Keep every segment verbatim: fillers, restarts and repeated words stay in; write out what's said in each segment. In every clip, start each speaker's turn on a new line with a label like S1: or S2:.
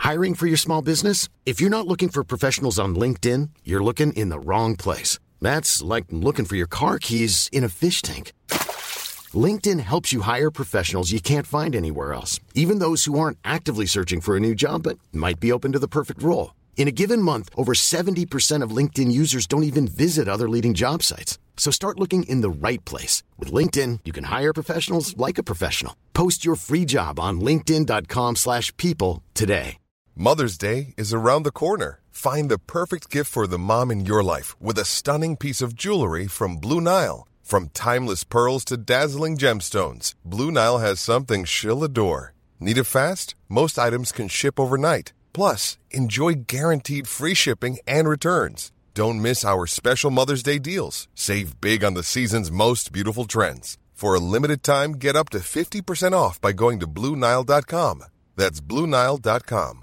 S1: Hiring for your small business? If you're not looking for professionals on LinkedIn, you're looking in the wrong place. That's like looking for your car keys in a fish tank. LinkedIn helps you hire professionals you can't find anywhere else, even those who aren't actively searching for a new job but might be open to the perfect role. In a given month, over seventy percent of LinkedIn users don't even visit other leading job sites. So start looking in the right place. With LinkedIn, you can hire professionals like a professional. Post your free job on linkedin.com slash people today.
S2: Mother's Day is around the corner. Find the perfect gift for the mom in your life with a stunning piece of jewelry from Blue Nile. From timeless pearls to dazzling gemstones, Blue Nile has something she'll adore. Need it fast? Most items can ship overnight. Plus, enjoy guaranteed free shipping and returns. Don't miss our special Mother's Day deals. Save big on the season's most beautiful trends. For a limited time, get up to fifty percent off by going to Blue Nile dot com. That's Blue Nile dot com.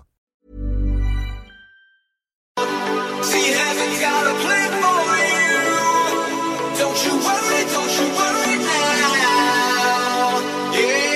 S3: See, heaven's got a plan for you. Don't you worry, don't you worry now. Yeah.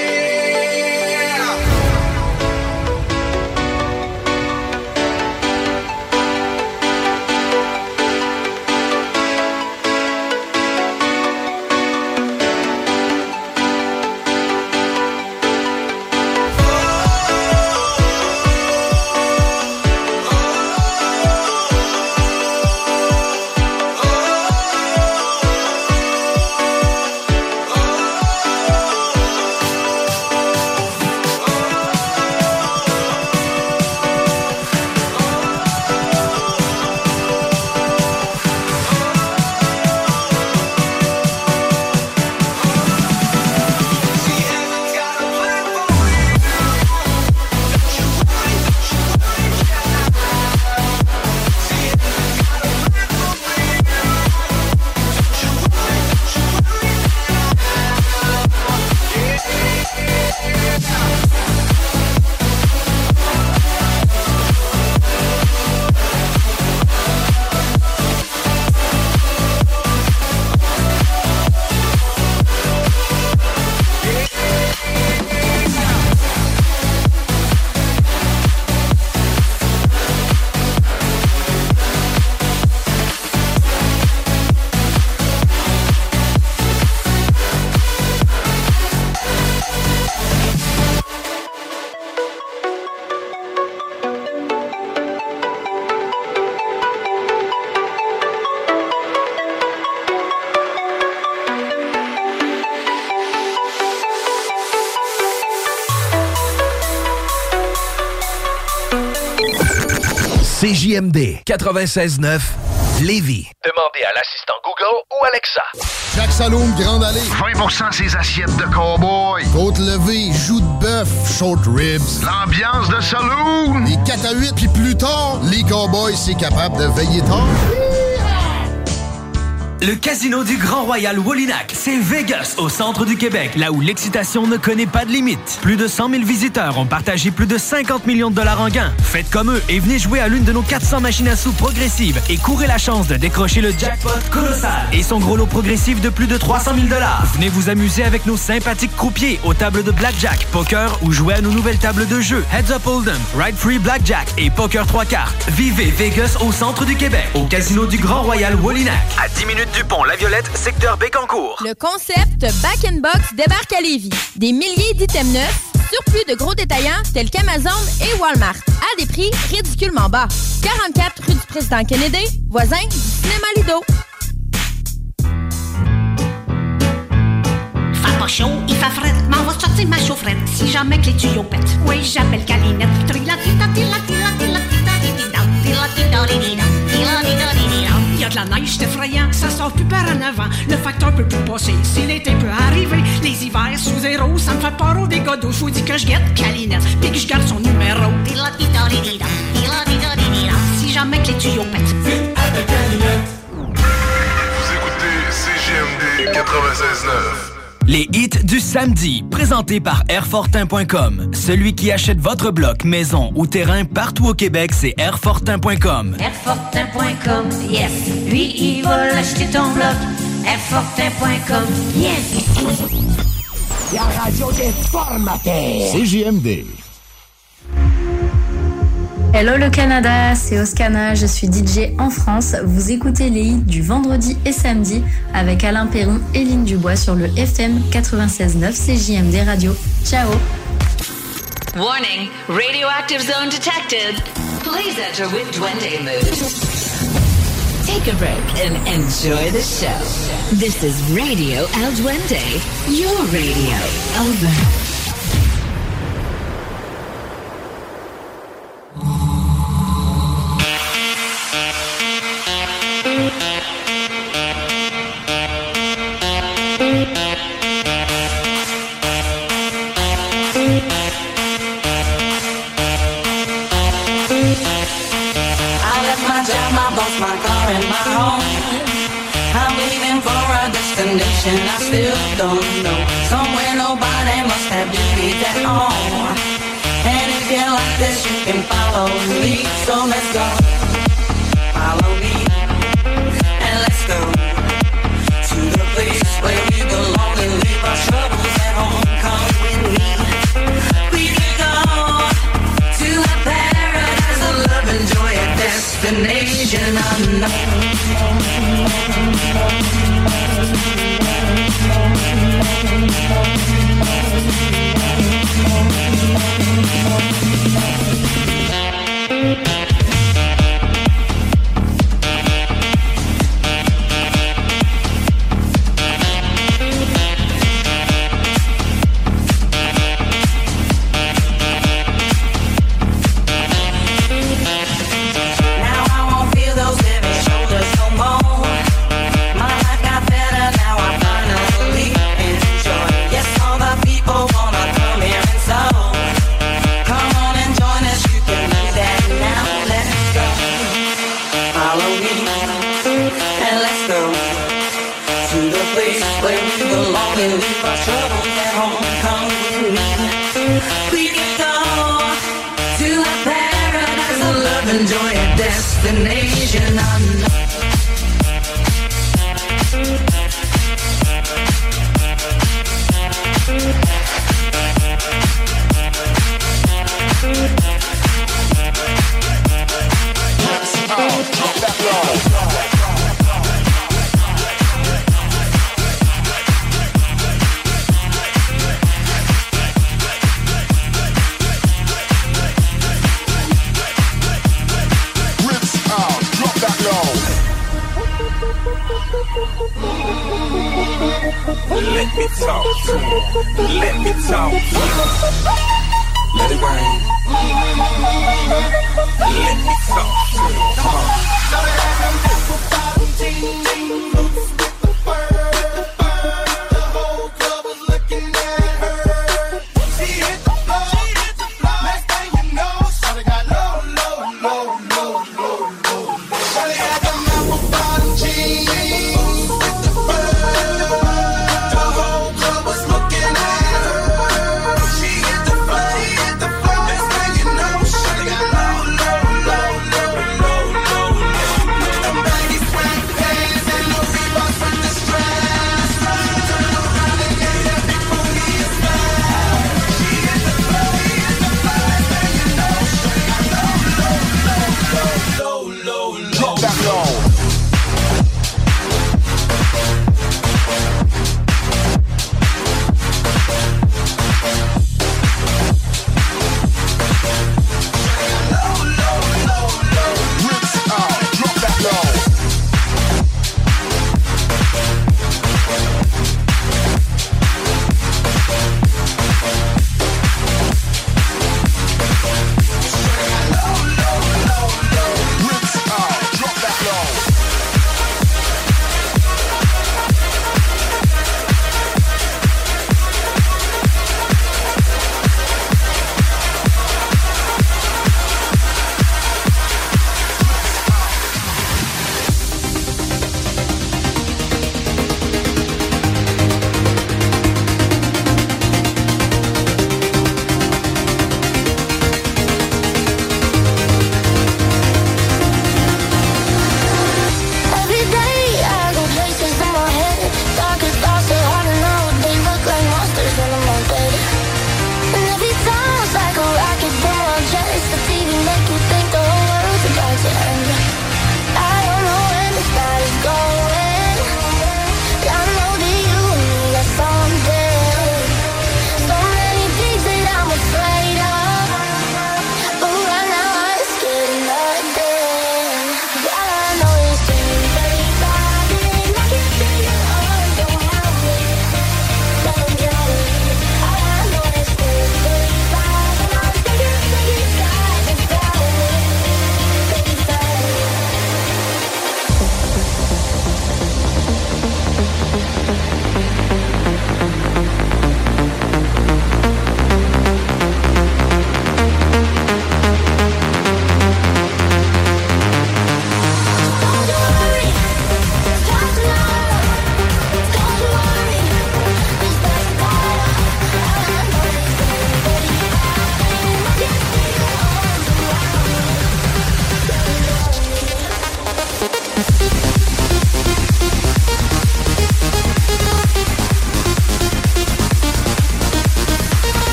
S4: C J M D quatre-vingt-seize neuf Lévis.
S5: Demandez à l'assistant Google ou Alexa.
S6: Jacques Saloum, Grande Allée.
S7: vingt pour cent ses assiettes de cow-boy.
S6: Côte levée, joues de bœuf, short ribs.
S7: L'ambiance de saloon.
S6: Les quatre à huit, puis plus tard, les cowboys, c'est capable de veiller tard.
S8: Le Casino du Grand Royal Wallinac, c'est Vegas, au centre du Québec, là où l'excitation ne connaît pas de limite. Plus de cent mille visiteurs ont partagé plus de cinquante millions de dollars en gains. Faites comme eux et venez jouer à l'une de nos quatre cents machines à sous progressives et courez la chance de décrocher le jackpot colossal et son gros lot progressif de plus de trois cent mille dollars. Venez vous amuser avec nos sympathiques croupiers aux tables de blackjack, poker ou jouer à nos nouvelles tables de jeu Heads Up Hold'em, Ride Free Blackjack et Poker trois cartes. Vivez Vegas au centre du Québec, au Casino du Grand Royal Wallinac.
S5: À dix minutes du pont La Violette, secteur Bécancour.
S9: Le concept Back in Box débarque à Lévis. Des milliers d'items neufs, surplus de gros détaillants tels qu'Amazon et Walmart, à des prix ridiculement bas. quarante-quatre rue du Président Kennedy, voisin du cinéma Lido.
S10: Fait pas chaud, il fait frais, m'en va sortir ma chaufferette. Si jamais que les tuyaux pètent, oui, j'appelle Calinette. Il y a de la neige, c'est effrayant, ça sort plus par en avant. Le facteur peut plus passer, si l'été peut arriver. Les hivers sous zéro, ça me fait peur au dégâts d'eau. Faut dire que je guette Calinette, puis que je garde son numéro. Si jamais que les tuyaux pètent, avec Calinette.
S2: Vous écoutez C J M D quatre-vingt-seize neuf.
S8: Les hits du samedi, présentés par Airfortin point com. Celui qui achète votre bloc, maison ou terrain partout au Québec, c'est Airfortin point com.
S11: Airfortin point com, yes. Lui, il va l'acheter ton bloc. Airfortin point com, yes.
S12: La radio des formateurs.
S6: C J M D.
S12: Hello le Canada, c'est Oscana, je suis D J en France. Vous écoutez les hits du vendredi et samedi avec Alain Perron et Lynn Dubois sur le F M quatre-vingt-seize neuf C J M D Radio. Ciao.
S13: Warning, radioactive zone detected. Please enter with Duende mood. Take a break and enjoy the show. This is Radio El Duende, your radio. Over.
S14: I still don't know. Somewhere nobody must have duties at all. And if you like this, you can follow me. So let's go. Follow me. And let's go to the place where we belong and leave our troubles at home. Come with me. We can go to a paradise of love and joy, a destination unknown.
S3: She hit the floor, hit the floor. Next thing you know, shawty got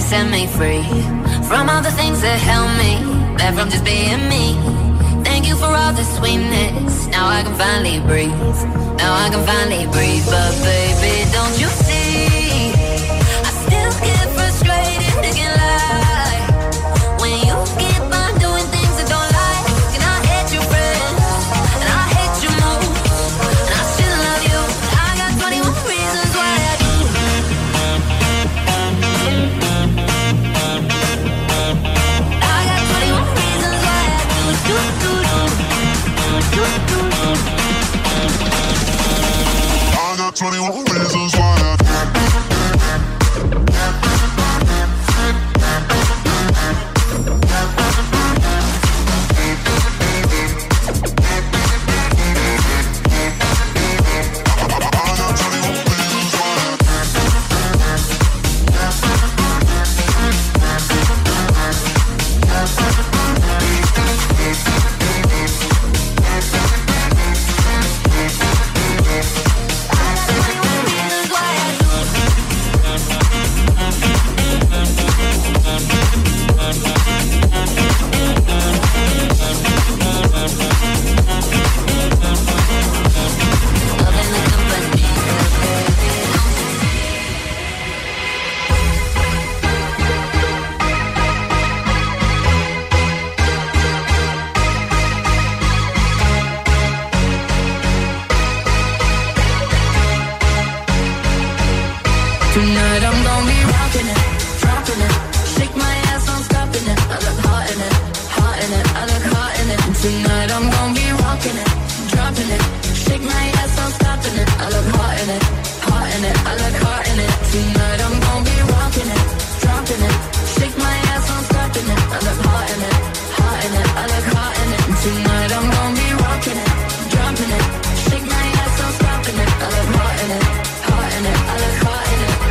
S11: set me free from all the things that held me back from just being me. Thank you for all the sweetness. Now I can finally breathe. Now I can finally breathe. But baby, don't you see? I still get frustrated and get lie when you keep on doing things that don't like. And I hate your friends and I hate your moves and I still love you. I got twenty-one reasons why I do. I got twenty-one reasons why I do. Do do do do do do.
S3: I got twenty-one reasons why I do.
S14: Tonight I'm gonna be rocking it, dropping it, shake my ass, I'm stopping it. I look hot in it, hot in it, I look hot in it. Tonight I'm gonna be rocking it, dropping it, shake my ass, I'm stopping it. I look hot in it, hot in it, I look hot in it. Tonight I'm gonna be rocking it, dropping it, shake my ass, I'm stopping it. I look hot in it, hot in it, I look hot in it. Tonight I'm gonna be rocking it, dropping it, shake my ass, I'm stopping it. I look hot in it, hot in it, I look hot in it.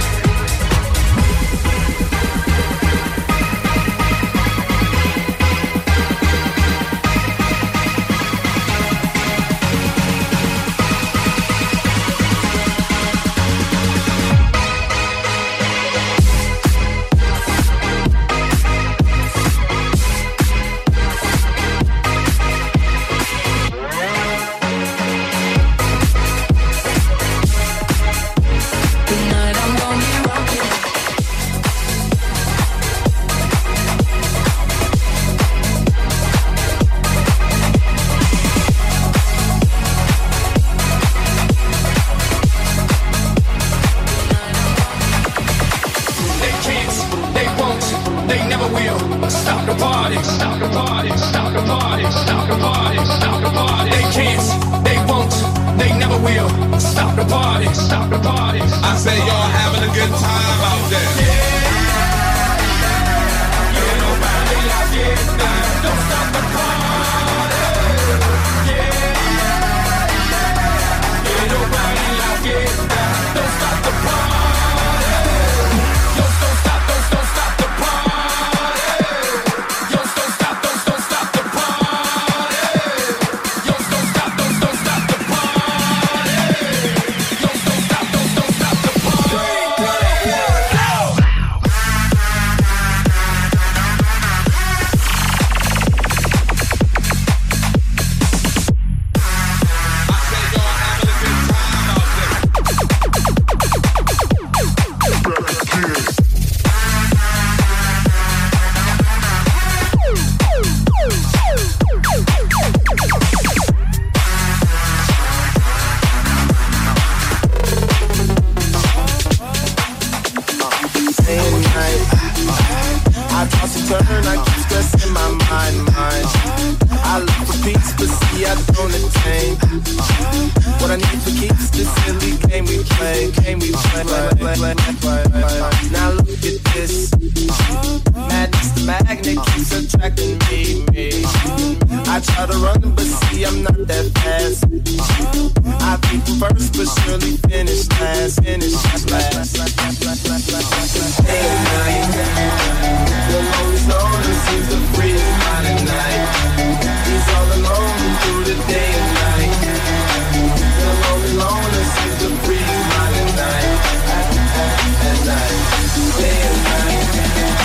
S3: Day and night.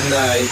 S3: that night.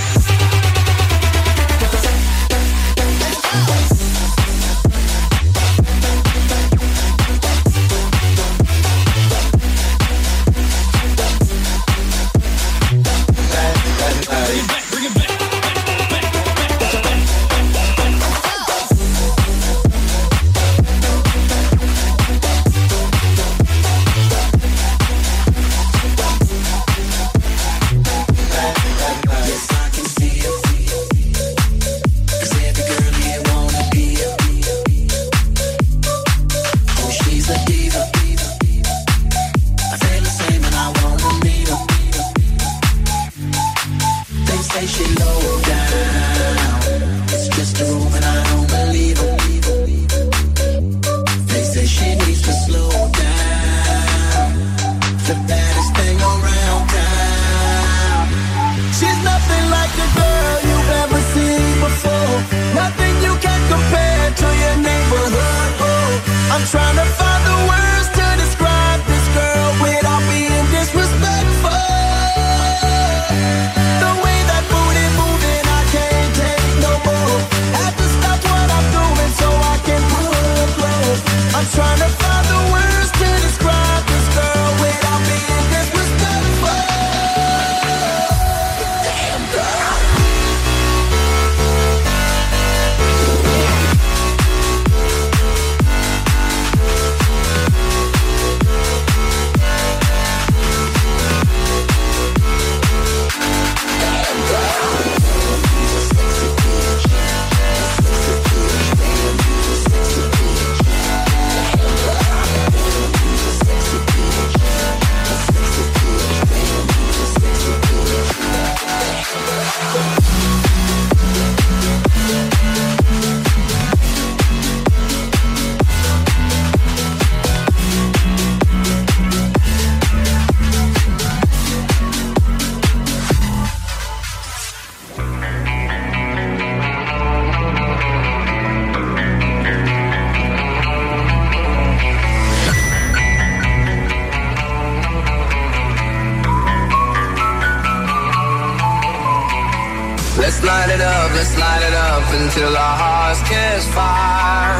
S3: Let's light it up, let's light it up until our hearts catch fire.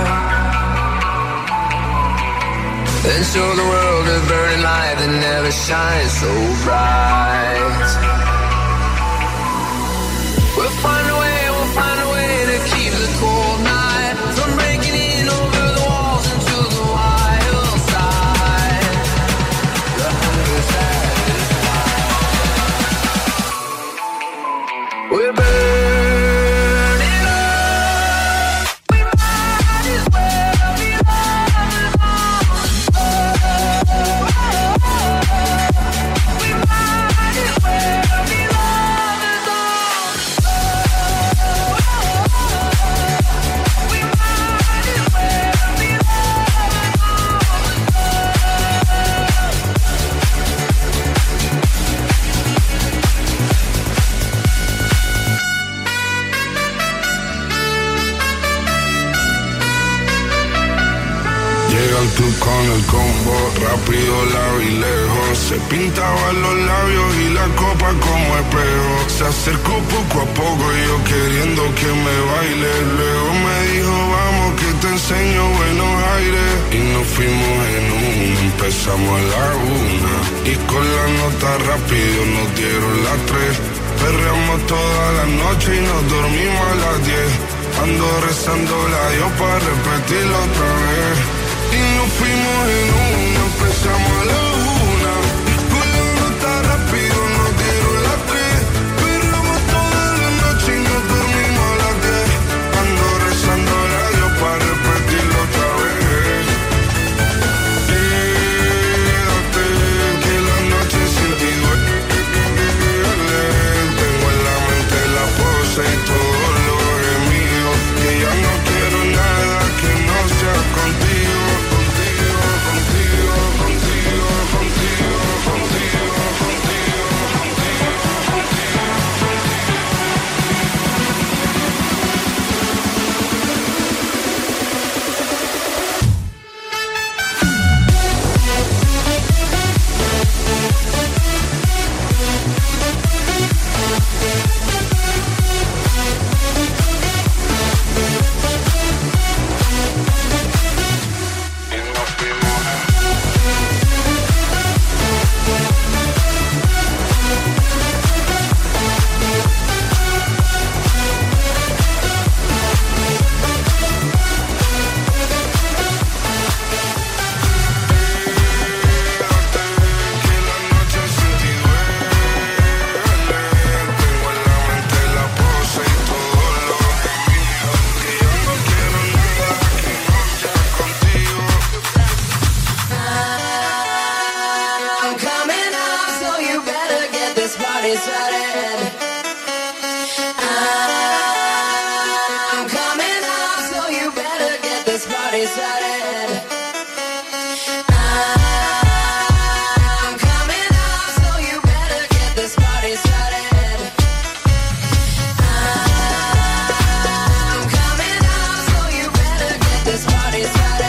S3: Then show the world a burning light that never shines so bright. We'll find a way, we'll find a way to keep the cold night from breaking in over the walls into the wild side. The hunger satisfied. We're burning.
S15: Con el combo, rápido, largo y lejos. Se pintaban los labios y la copa como espejo. Se acercó poco a poco y yo queriendo que me baile. Luego me dijo, vamos que te enseño buenos aires. Y nos fuimos en una, empezamos a la una. Y con la nota rápido nos dieron las tres. Perreamos toda la noche y nos dormimos a las diez. Ando rezando la Dios para repetirlo otra vez. Y nos fuimos en una, empezamos a la una. Con la nota rápido nos dieron las tres. Perramos toda la noche y nos dormimos a las diez. Ando rezando a Dios para repetirlo otra vez. Quédate, que la noche sin ti duele. Tengo en la mente la pose y todo lo gemido. Que ya no quiero nada que no sea contigo.
S3: party started. I'm coming up, so you better get this party started. I'm coming up, so you better get this party started. I'm coming up, so you better get this party started.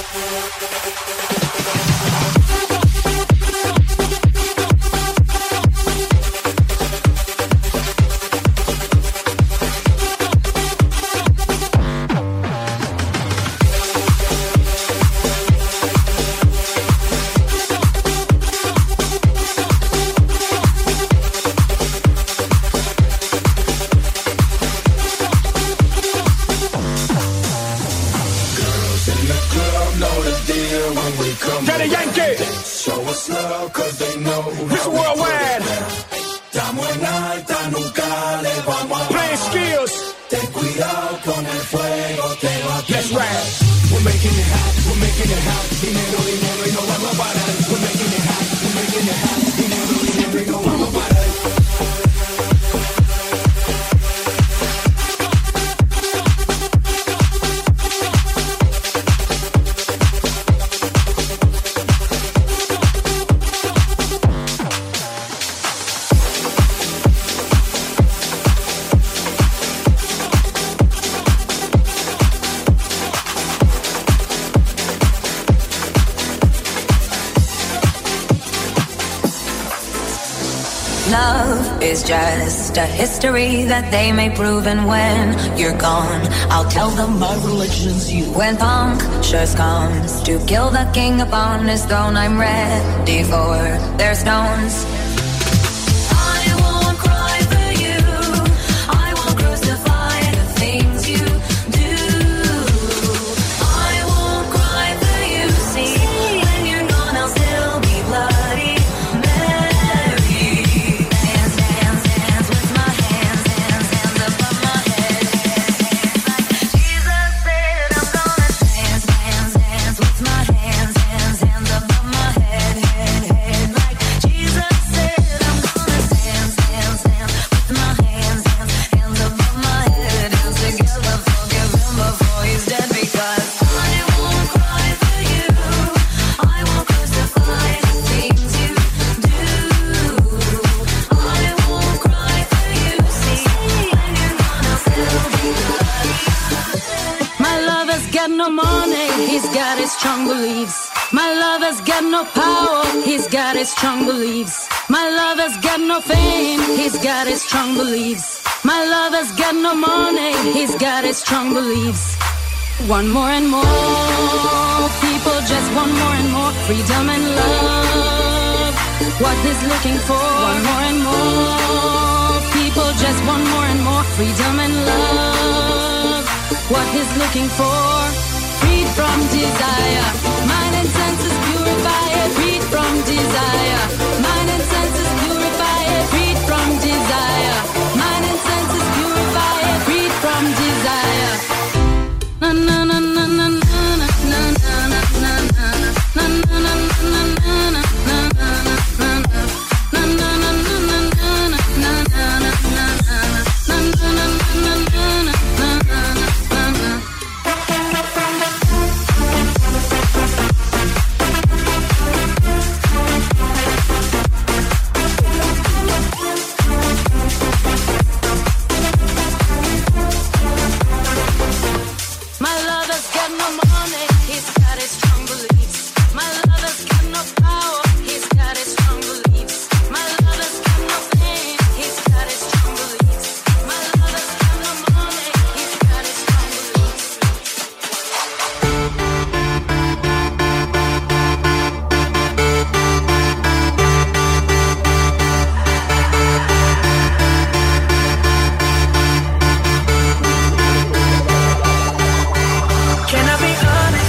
S11: Is just a history that they may prove, and when you're gone, I'll tell them my religion's you. When punctures comes to kill the king upon his throne, I'm ready for their stones.
S16: Strong beliefs. My lover's got no power, he's got his strong beliefs. My lover's got no fame, he's got his strong beliefs. My lover's got no money, he's got his strong beliefs. One more and more, people just want more and more freedom and love. What he's looking for, one more and more, people just want more and more freedom and love. What he's looking for, freed from desire, mind and senses purify it, freed from desire, mind and senses purify it, freed from desire, mind and senses purify it, freed from desire. Na na na na na na na na na na na na na na
S3: Can I be honest?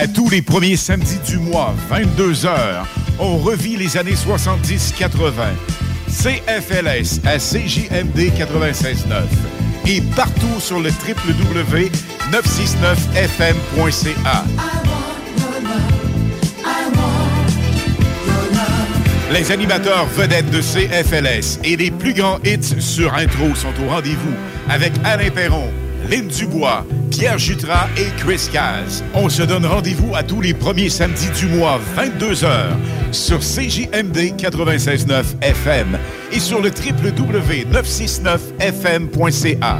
S17: À tous les premiers samedis du mois, vingt-deux heures, on revit les années soixante-dix quatre-vingt. C F L S à C J M D quatre-vingt-seize neuf et partout sur le w w w point neuf cent soixante-neuf F M point C A. Les animateurs vedettes de C F L S et les plus grands hits sur intro sont au rendez-vous avec Alain Perron, Lynn Dubois, Pierre Jutras et Chris Caz. On se donne rendez-vous à tous les premiers samedis du mois, vingt-deux heures, sur C J M D quatre-vingt-seize neuf F M et sur le w w w point neuf cent soixante-neuf F M point C A.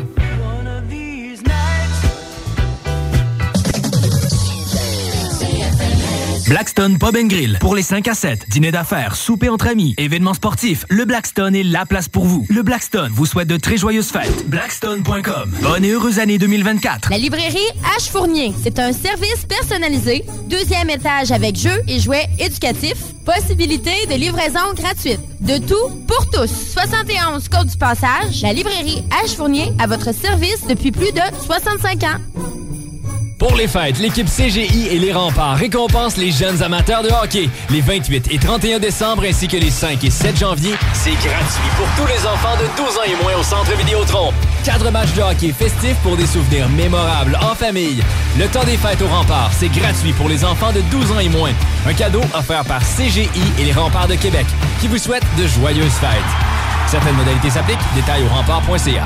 S8: Blackstone Pub and Grill. Pour les cinq à sept, dîner d'affaires, souper entre amis, événements sportifs, le Blackstone est la place pour vous. Le Blackstone vous souhaite de très joyeuses fêtes. Blackstone point com. Bonne et heureuse année deux mille vingt-quatre.
S9: La librairie H. Fournier. C'est un service personnalisé. Deuxième étage avec jeux et jouets éducatifs. Possibilité de livraison gratuite. De tout pour tous. soixante et onze Côte du Passage. La librairie H. Fournier à votre service depuis plus de soixante-cinq ans.
S18: Pour les fêtes, l'équipe C G I et les Remparts récompensent les jeunes amateurs de hockey. Les vingt-huit et trente et un décembre ainsi que les cinq et sept janvier, c'est gratuit pour tous les enfants de douze ans et moins au Centre Vidéotron. Quatre matchs de hockey festifs pour des souvenirs mémorables en famille. Le temps des fêtes aux Remparts, c'est gratuit pour les enfants de douze ans et moins. Un cadeau offert par C G I et les Remparts de Québec qui vous souhaitent de joyeuses fêtes. Certaines modalités s'appliquent. Détails au rempart point C A.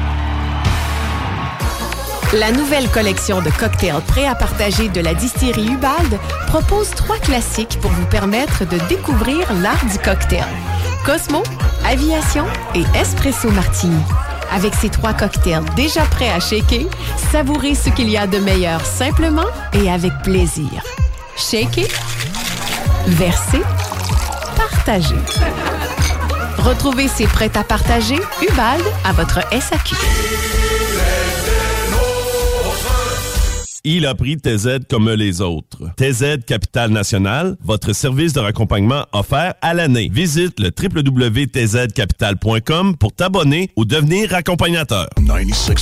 S19: La nouvelle collection de cocktails prêts à partager de la distillerie Ubald propose trois classiques pour vous permettre de découvrir l'art du cocktail. Cosmo, Aviation et Espresso Martini. Avec ces trois cocktails déjà prêts à shaker, savourez ce qu'il y a de meilleur simplement et avec plaisir. Shaker, verser, partager. Retrouvez ces prêts à partager Ubald à votre S A Q.
S20: Il a pris T Z comme les autres. T Z Capital National, votre service de raccompagnement offert à l'année. Visite le w w w point t z capital point com pour t'abonner ou devenir accompagnateur.
S21: quatre-vingt-seize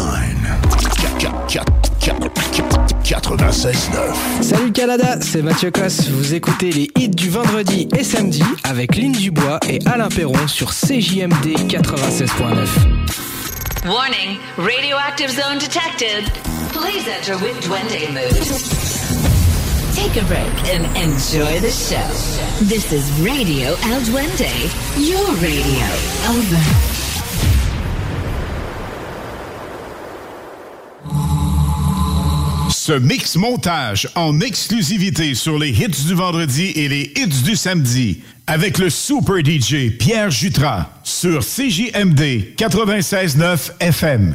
S21: neuf.
S22: Salut Canada, c'est Mathieu Cosse. Vous écoutez les hits du vendredi et samedi avec Lynn Dubois et Alain Perron sur C J M D quatre-vingt-seize neuf.
S13: Warning, radioactive zone detected. Please enter with Duende mood. Take a break and enjoy the show. This is Radio El Duende, your radio. Over.
S17: Ce mix montage en exclusivité sur les hits du vendredi et les hits du samedi avec le super D J Pierre Jutras sur C J M D quatre-vingt-seize neuf F M.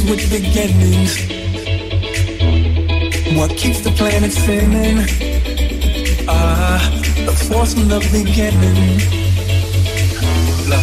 S1: with beginnings. What keeps the planet spinning? Ah, the force from the beginning. Look.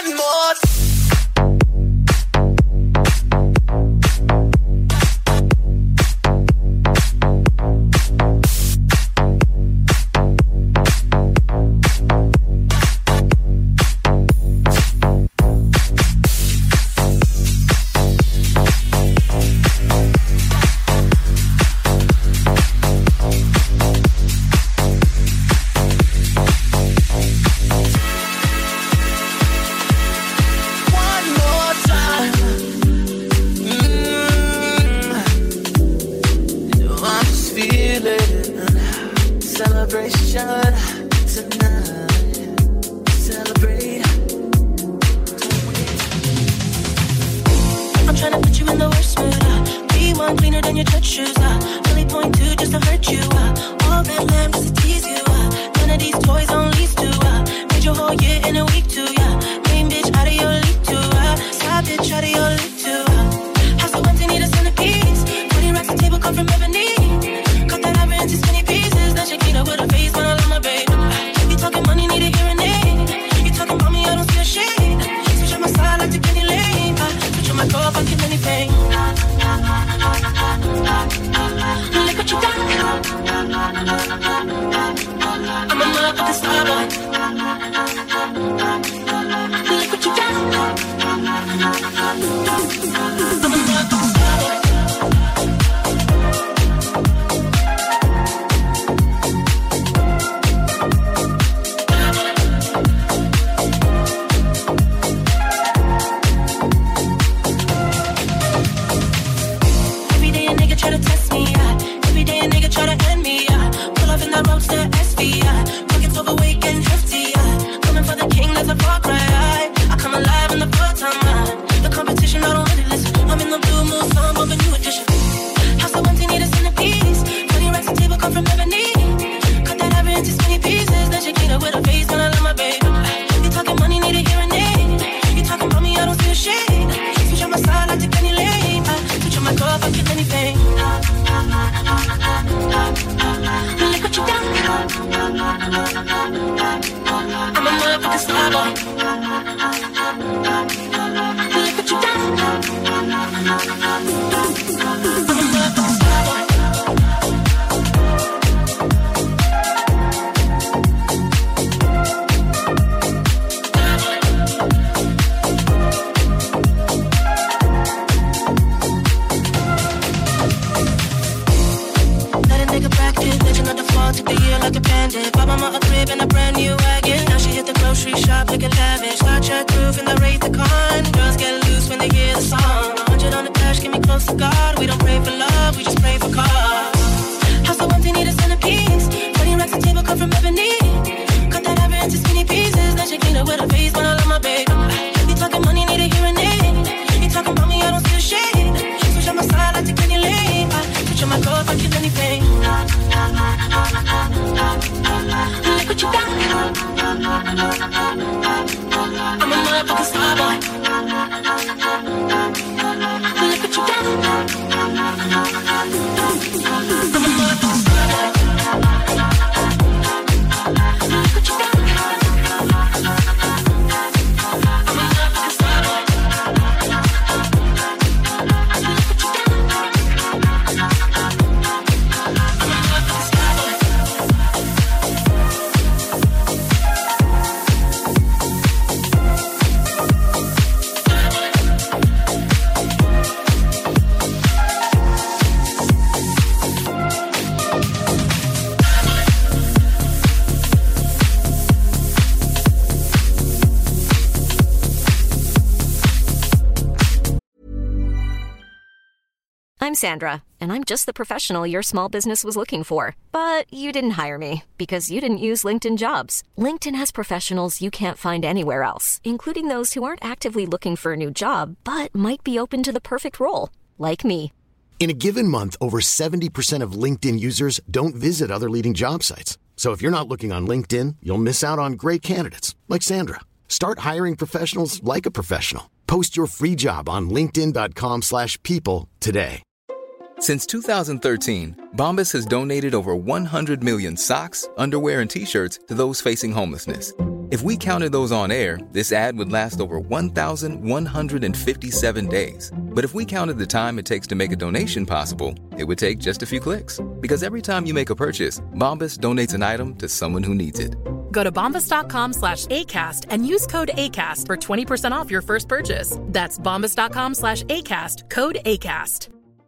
S3: one more.
S4: I'm Sandra, and I'm just the professional your small business was looking for. But you didn't hire me because you didn't use LinkedIn Jobs. LinkedIn has professionals you can't find anywhere else, including those who aren't actively looking for a new job, but might be open to the perfect role, like me.
S21: In a given month, over seventy percent of LinkedIn users don't visit other leading job sites. So if you're not looking on LinkedIn, you'll miss out on great candidates, like Sandra. Start hiring professionals like a professional. Post your free job on linkedin dot com slash people today.
S23: Since two thousand thirteen, Bombas has donated over one hundred million socks, underwear, and T-shirts to those facing homelessness. If we counted those on air, this ad would last over one thousand one hundred fifty-seven days. But if we counted the time it takes to make a donation possible, it would take just a few clicks. Because every time you make a purchase, Bombas donates an item to someone who needs it.
S5: Go to bombas.com slash ACAST and use code ACAST for twenty percent off your first purchase. That's bombas.com slash ACAST, code ACAST.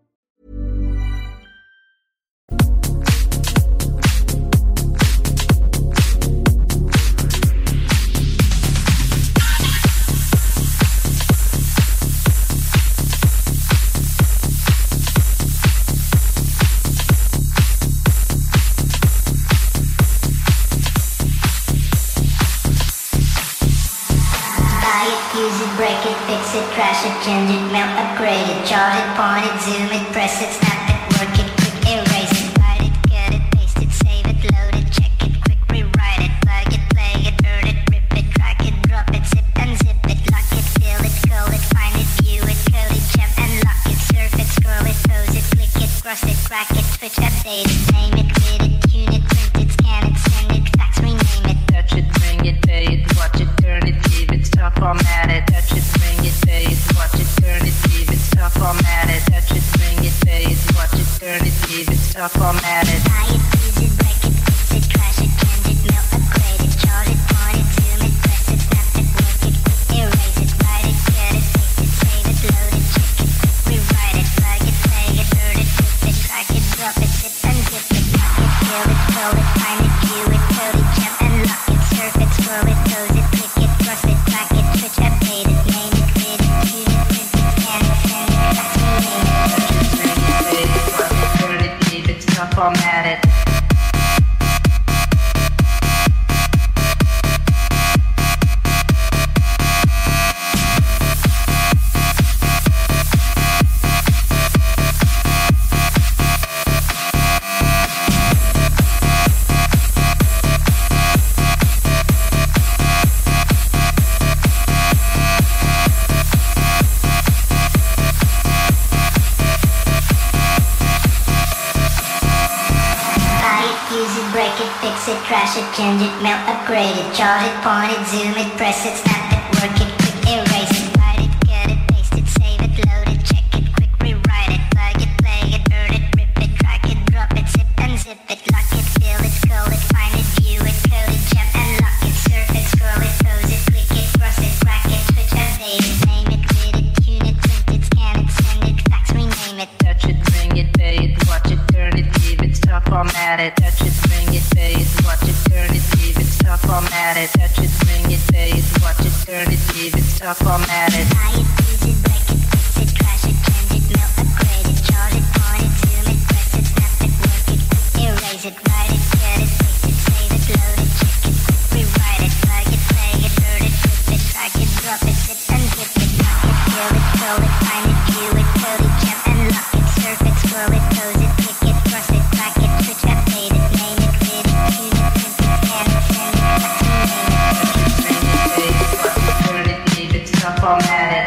S7: Use it, break it, fix it, crash it, change it, melt, upgrade it, chart it, point it, zoom it, press it, snap it, work it, quick erase it, write it, cut it, paste it, save it, load it, check it, quick rewrite it, plug it, play it, burn it, rip it, drag it, drop it, zip and zip it, lock it, fill it, call it, find it, view it, code it, jump and lock it, surf it, scroll it, pose it, click it, cross it, crack it, switch, update it, name it, read it, tune it, print it, scan it, send it, fax, rename it, touch it, bring it, pay it, watch it, turn it, leave it, stop, format it, touch it, bring it, pay it, watch it, turn it, leave it, stop, format it, touch it, bring it, pay it, watch it, turn it, leave it, stop, format it. Buy it, use it, break it, fix it, crash it, change it, melt, upgrade it, chart it, point it, zoom it, press it, snap it, work it, quick erase it, write it, cut it, paste it, save it, load it, check it, quick rewrite it, plug it, play it, burn it, rip it, drag it, drop it, zip and zip it, lock it, fill it, call it, find it, view it, code it, jump and lock it, surf it, scroll it, pose it, click it, cross it, crack it, switch, update it, name it, read it, tune it, print it, scan it, send it, fax, rename it, touch it, bring it, pay it, watch it, turn it, leave it, stop, format it. Fix it, crash it, change it, melt, upgrade it, chart it, point it, zoom it, press it, snap it, work it, quick erase it, write it, cut it, paste it, save it, load it, check it, quick rewrite it, plug it, play it, burn it, rip it, drag it, drop it, zip and zip it, lock it, fill it, call it, find it, view it, code it, jump and lock it, surf it, scroll it, pose it, click it, cross it, crack it, switch, update it, name it, read it, tune it, print it, scan it, send it, fax, rename it, touch it, bring it, pay it, watch it, turn it, leave it, stop, format it, touch it, bring it, pay it, watch it, turn it, leave it, stop, format it, touch it, bring it, pay it, watch it, turn it, leave it, stop, format it. Buy it, use it, break it, fix it, crash it, change it, melt, upgrade it, chart it, point it, zoom it, press it, snap it, work it, quick erase it, write it, cut it, paste it, save it, load it, check it, quick rewrite it, plug it, play it, burn it, rip it, drag it, drop it, zip and zip it, lock it, fill it, call it, find it, view it, code it, jump and lock it, surf it, scroll it, pose it, click it, cross it, crack it, switch, update it, name it, read it, tune it, print it, scan it, send it, fax, rename it, touch it, bring it, pay it, watch it, turn it, leave it, stop, format it.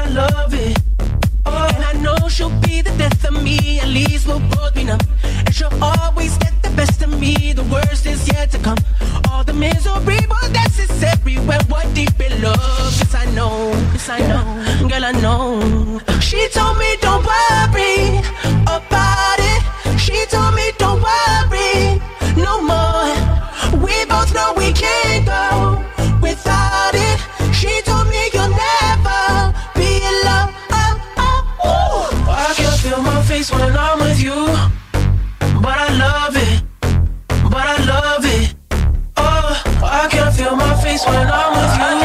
S1: she'll be the death of me. At least we'll both be numb, and she'll I know. She told me don't worry about it. She told me don't worry no more. We both know we can't go without it. She told me you'll never be alone. Oh, oh, oh. I can feel my face when I'm with you, but I love it, but I love it. Oh, I can feel my face when I'm with you.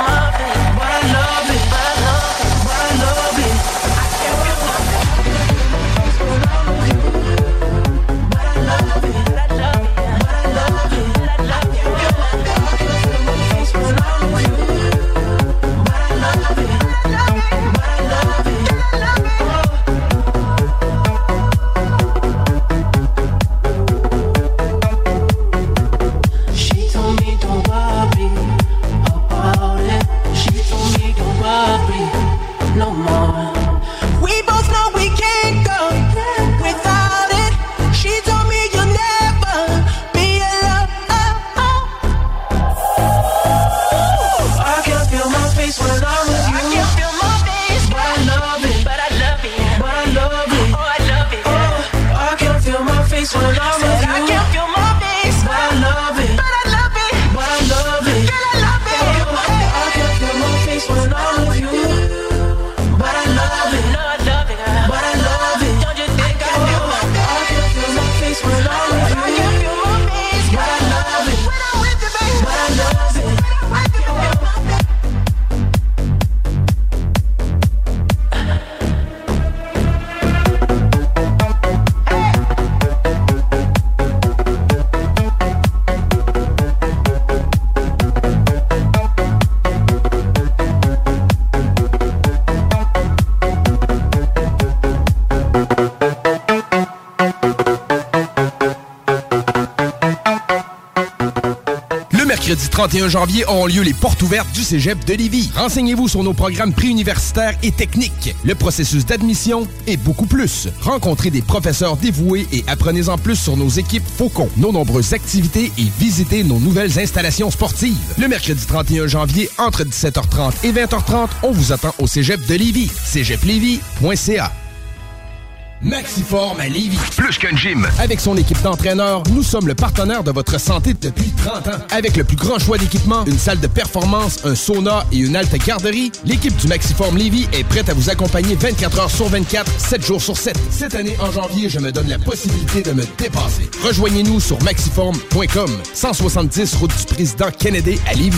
S2: Mercredi trente et un janvier auront lieu les portes ouvertes du Cégep de Lévis. Renseignez-vous sur nos programmes préuniversitaires et techniques, le processus d'admission et beaucoup plus. Rencontrez des professeurs dévoués et apprenez-en plus sur nos équipes Faucon, nos nombreuses activités et visitez nos nouvelles installations sportives. Le mercredi trente et un janvier, entre dix-sept heures trente et vingt heures trente, on vous attend au Cégep de Lévis. cégep lévis point c a. Maxiform à Lévis. Plus qu'un gym. Avec son équipe d'entraîneurs, nous sommes le partenaire de votre santé depuis trente ans. Avec le plus grand choix d'équipements, une salle de performance, un sauna et une halte garderie, l'équipe du Maxiform Lévis est prête à vous accompagner vingt-quatre heures sur vingt-quatre, sept jours sur sept. Cette année, en janvier, je me donne la possibilité de me dépasser. Rejoignez-nous sur maxiform point com, cent soixante-dix route du président Kennedy à Lévis.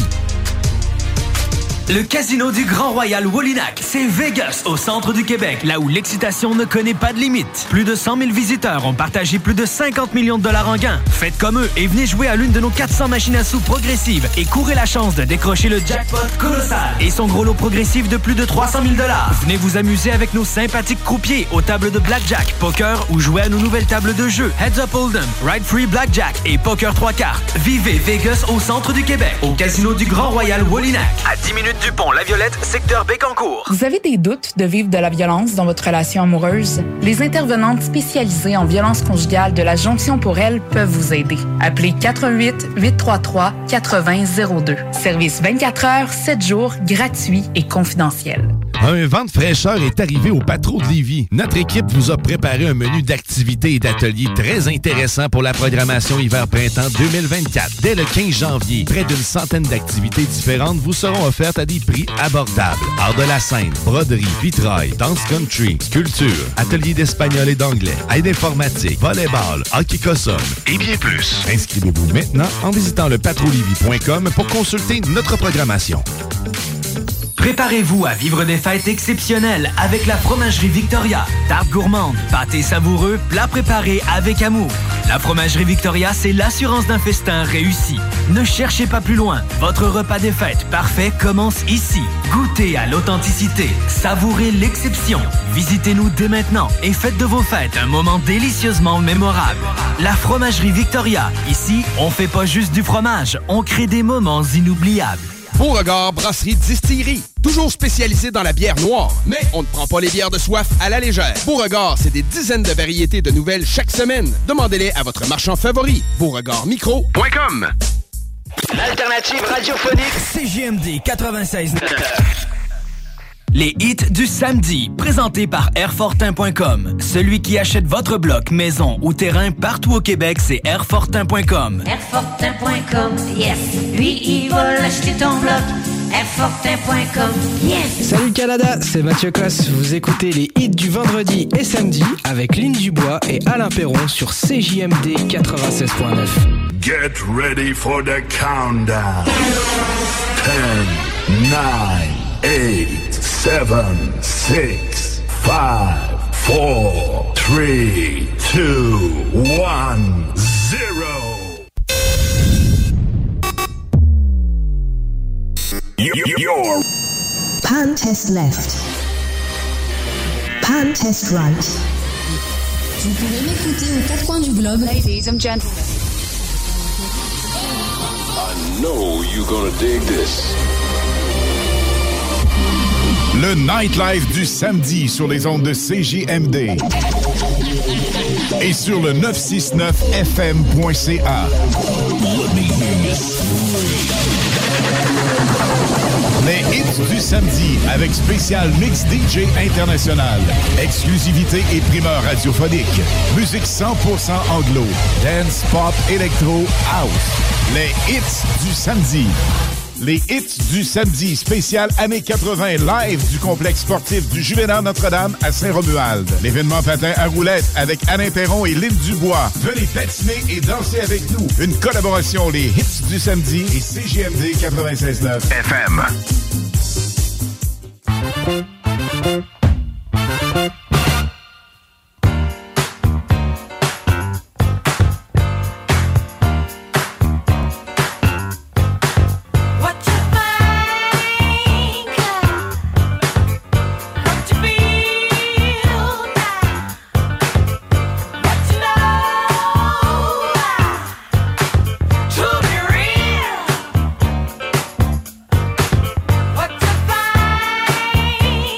S8: Le Casino du Grand Royal Wallinac, c'est Vegas, au centre du Québec, là où l'excitation ne connaît pas de limite. Plus de cent mille visiteurs ont partagé plus de cinquante millions de dollars en gains. Faites comme eux et venez jouer à l'une de nos quatre cents machines à sous progressives et courez la chance de décrocher le jackpot colossal et son gros lot progressif de plus de trois cent mille dollars. Venez vous amuser avec nos sympathiques croupiers aux tables de blackjack, poker ou jouer à nos nouvelles tables de jeu Heads Up Hold'em, Ride Free Blackjack et Poker trois cartes. Vivez Vegas au centre du Québec, au Casino du Grand Royal Wallinac, à dix minutes du pont La Violette, secteur Bécancour.
S6: Vous avez des doutes de vivre de la violence dans votre relation amoureuse? Les intervenantes spécialisées en violence conjugale de la Jonction pour elle peuvent vous aider. Appelez quatre un huit, huit trois trois, quatre zéro zéro deux. Service vingt-quatre heures, sept jours, gratuit et confidentiel.
S17: Un vent de fraîcheur est arrivé au Patro de Lévis. Notre équipe vous a préparé un menu d'activités et d'ateliers très intéressant pour la programmation hiver-printemps deux mille vingt-quatre. Dès le quinze janvier, près d'une centaine d'activités différentes vous seront offertes à des prix abordables. Art de la scène, broderie, vitrail, danse country, sculpture, ateliers d'espagnol et d'anglais, aide informatique, volleyball, hockey cossum et bien plus. Inscrivez-vous maintenant en visitant le patro lévis point com pour consulter notre programmation.
S8: Préparez-vous à vivre des fêtes exceptionnelles avec la Fromagerie Victoria. Tarte gourmande, pâté savoureux, plats préparés avec amour. La Fromagerie Victoria, c'est l'assurance d'un festin réussi. Ne cherchez pas plus loin. Votre repas des fêtes parfait commence ici. Goûtez à l'authenticité. Savourez l'exception. Visitez-nous dès maintenant et faites de vos fêtes un moment délicieusement mémorable. La Fromagerie Victoria. Ici, on fait pas juste du fromage, on crée des moments inoubliables.
S2: Beauregard Brasserie Distillerie. Toujours spécialisé dans la bière noire, mais on ne prend pas les bières de soif à la légère. Beauregard, c'est des dizaines de variétés de nouvelles chaque semaine. Demandez-les à votre marchand favori. beauregard micro point com.
S8: L'alternative radiophonique C J M D quatre-vingt-seize neuf. Les hits du samedi, présentés par Airfortin point com. Celui qui achète votre bloc, maison ou terrain partout au Québec, c'est Airfortin point com.
S16: Airfortin point com, yes. Lui, il va l'acheter ton bloc. Airfortin point com, yes.
S22: Salut Canada, c'est Mathieu Cosse. Vous écoutez les hits du vendredi et samedi avec Lynn Dubois et Alain Perron sur C J M D quatre-vingt-seize point neuf.
S15: Get ready for the countdown. ten, nine, eight, seven, six, five, four, three, two, one, zero. Your
S10: Pan test left. Pan test right.
S12: Vous pouvez m'écouter aux quatre coins du globe. Ladies and gentlemen.
S15: I know you're gonna dig this.
S17: Le Nightlife du samedi sur les ondes de C J M D et sur le neuf cent soixante-neuf F M point C A. Les hits du samedi avec spécial mix D J international, exclusivité et primeur radiophonique, musique cent pour cent anglo, dance, pop, électro, house. Les hits du samedi. Les hits du samedi, spécial années quatre-vingt, live du complexe sportif du Juvénat Notre-Dame à Saint-Romuald. L'événement patin à roulettes avec Alain Perron et Lynn Dubois. Venez patiner et danser avec nous. Une collaboration, les hits du samedi et C J M D quatre-vingt-seize neuf F M.
S3: What to find?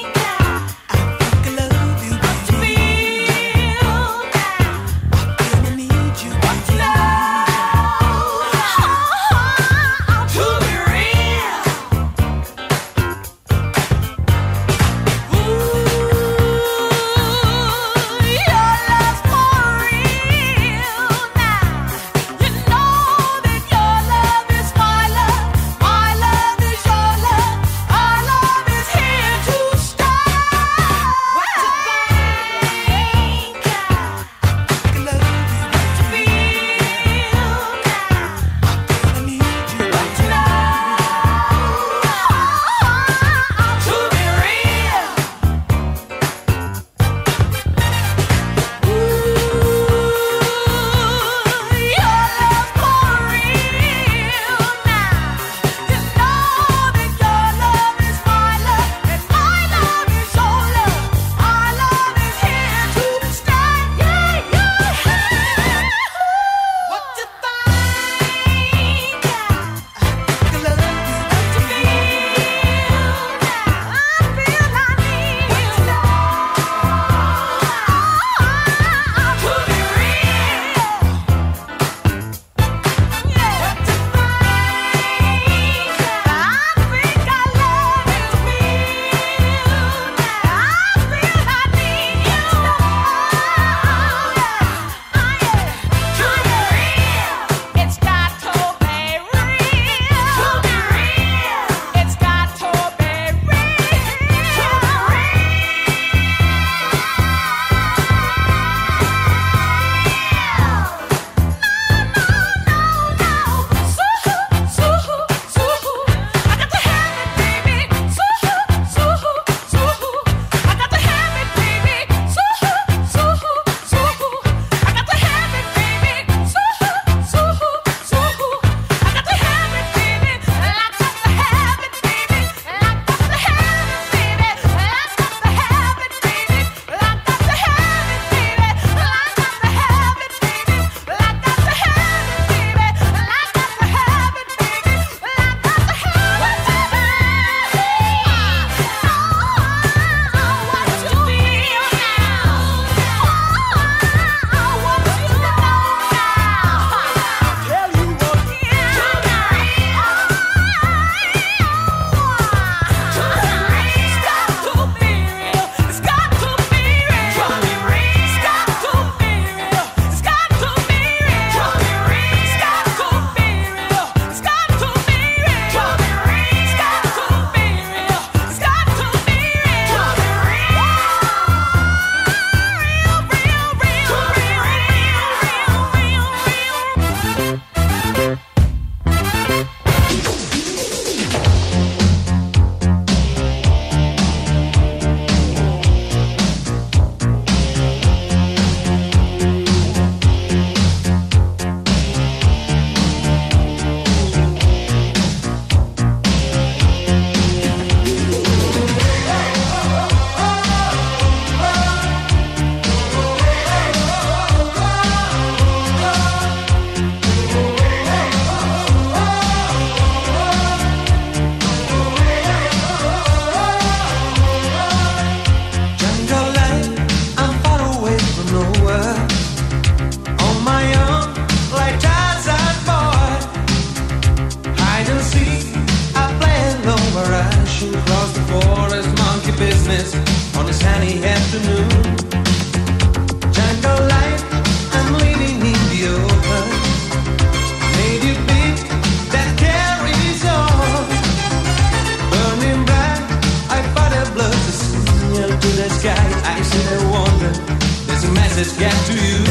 S3: get to you.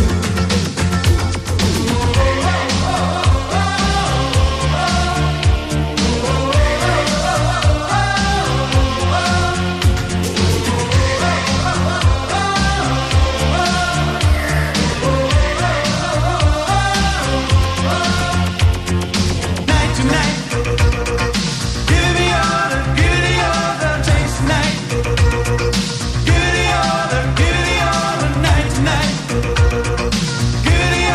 S1: Goody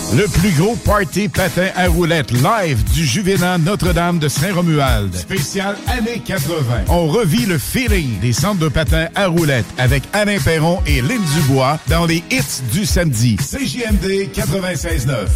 S17: Le plus gros party patin à roulettes live du Juvénat Notre-Dame de Saint-Romuald. Spécial années quatre-vingt. On revit le feeling des centres de patins à roulettes avec Alain Perron et Lynn Dubois dans les hits du samedi. C J M D quatre-vingt-seize neuf.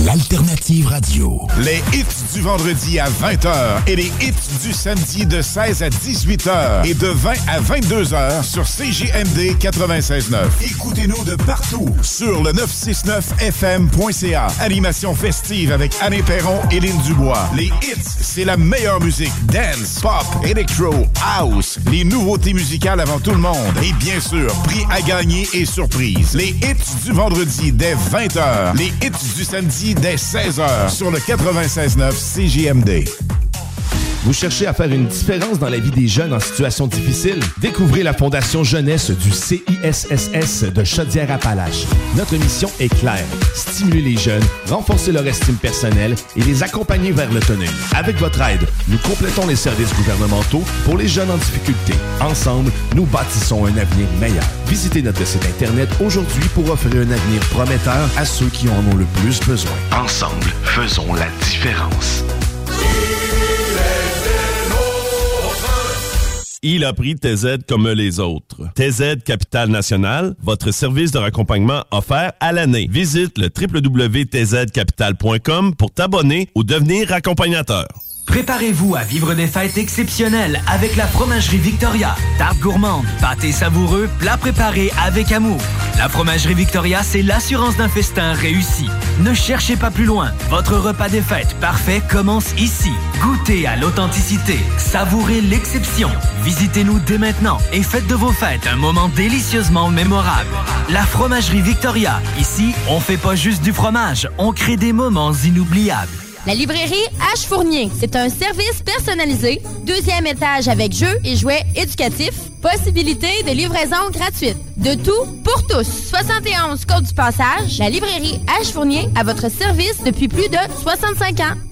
S9: l'alternative radio.
S17: Les hits du vendredi à vingt heures et les hits du samedi de seize à dix-huit heures et de vingt à vingt-deux heures sur C J M D quatre-vingt-seize neuf. Écoutez-nous de partout sur le neuf cent soixante-neuf F M point C A. Animation festive avec Anne Perron et Lynn Dubois. Les hits, c'est la meilleure musique. Dance, pop, electro, house. Les nouveautés musicales avant tout le monde. Et bien sûr, prix à gagner et surprise. Les hits du vendredi dès vingt heures. Les hits du samedi dès seize heures sur le quatre-vingt-seize neuf C J M D.
S2: Vous cherchez à faire une différence dans la vie des jeunes en situation difficile? Découvrez la Fondation Jeunesse du C I S S S de Chaudière-Appalaches. Notre mission est claire. Stimuler les jeunes, renforcer leur estime personnelle et les accompagner vers l'autonomie. Avec votre aide, nous complétons les services gouvernementaux pour les jeunes en difficulté. Ensemble, nous bâtissons un avenir meilleur. Visitez notre site Internet aujourd'hui pour offrir un avenir prometteur à ceux qui en ont le plus besoin.
S9: Ensemble, faisons la différence.
S20: Il a pris T Z comme les autres. T Z Capital National, votre service de raccompagnement offert à l'année. Visite le w w w point t z capital point com pour t'abonner ou devenir accompagnateur.
S8: Préparez-vous à vivre des fêtes exceptionnelles avec la Fromagerie Victoria. Tarte gourmande, pâté savoureux, plats préparés avec amour. La Fromagerie Victoria, c'est l'assurance d'un festin réussi. Ne cherchez pas plus loin. Votre repas des fêtes parfait commence ici. Goûtez à l'authenticité. Savourez l'exception. Visitez-nous dès maintenant et faites de vos fêtes un moment délicieusement mémorable. La Fromagerie Victoria. Ici, on fait pas juste du fromage, on crée des moments inoubliables.
S11: La librairie H. Fournier, c'est un service personnalisé, deuxième étage avec jeux et jouets éducatifs, possibilité de livraison gratuite. De tout pour tous. soixante et onze Côte du Passage, la librairie H. Fournier à votre service depuis plus de soixante-cinq ans.